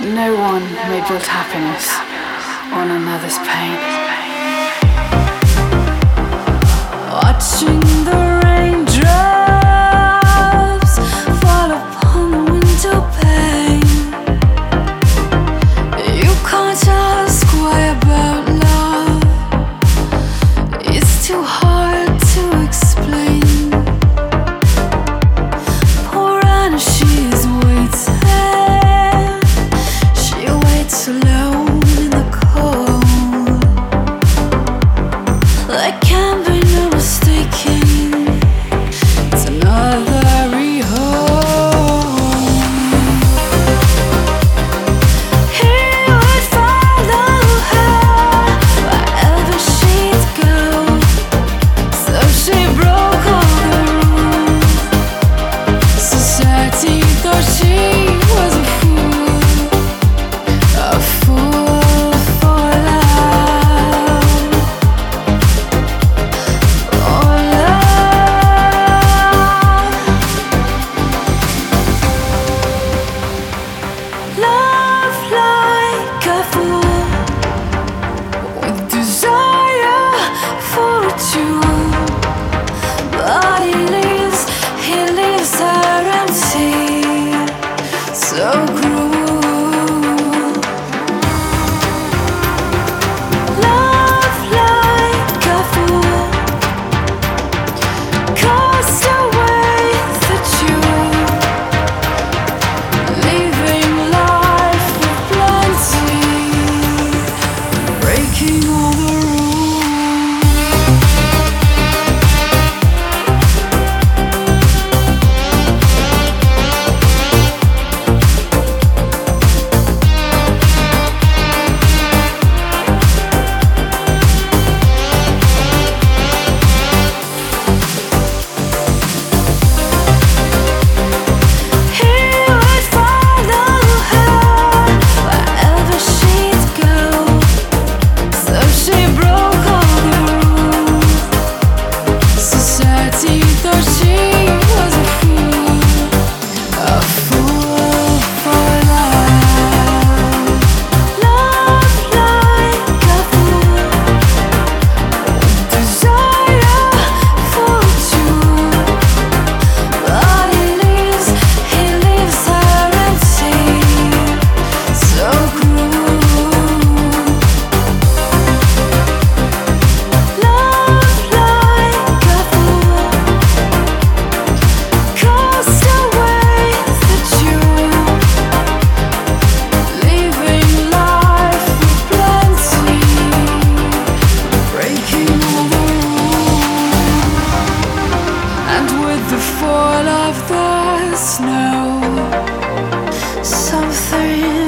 No one may build happiness on another's pain. Watching the raindrops fall upon the window pane. You can't ask why about love. It's too hard to explain. Poor Anna, she is waiting. She waits alone in the cold. There can be no mistaking. It's another rehome. He would follow her wherever she'd go. So she broke all the rules. Society thought she was a fool for love, for love like a fool with desire for a jewel. But he leaves her empty, so cruel. Love like a fool, cast away the jewel, leaving life with plenty, breaking all the rules. He would follow her wherever she'd go. So she broke all the rules. Society thought she was a fool for love. Love like a fool, desire for a jewel. But he leaves her empty, so cruel. Love like a fool, cast away the jewel, leaving life with plenty, breaking all the rules. And with the fall of the snow, something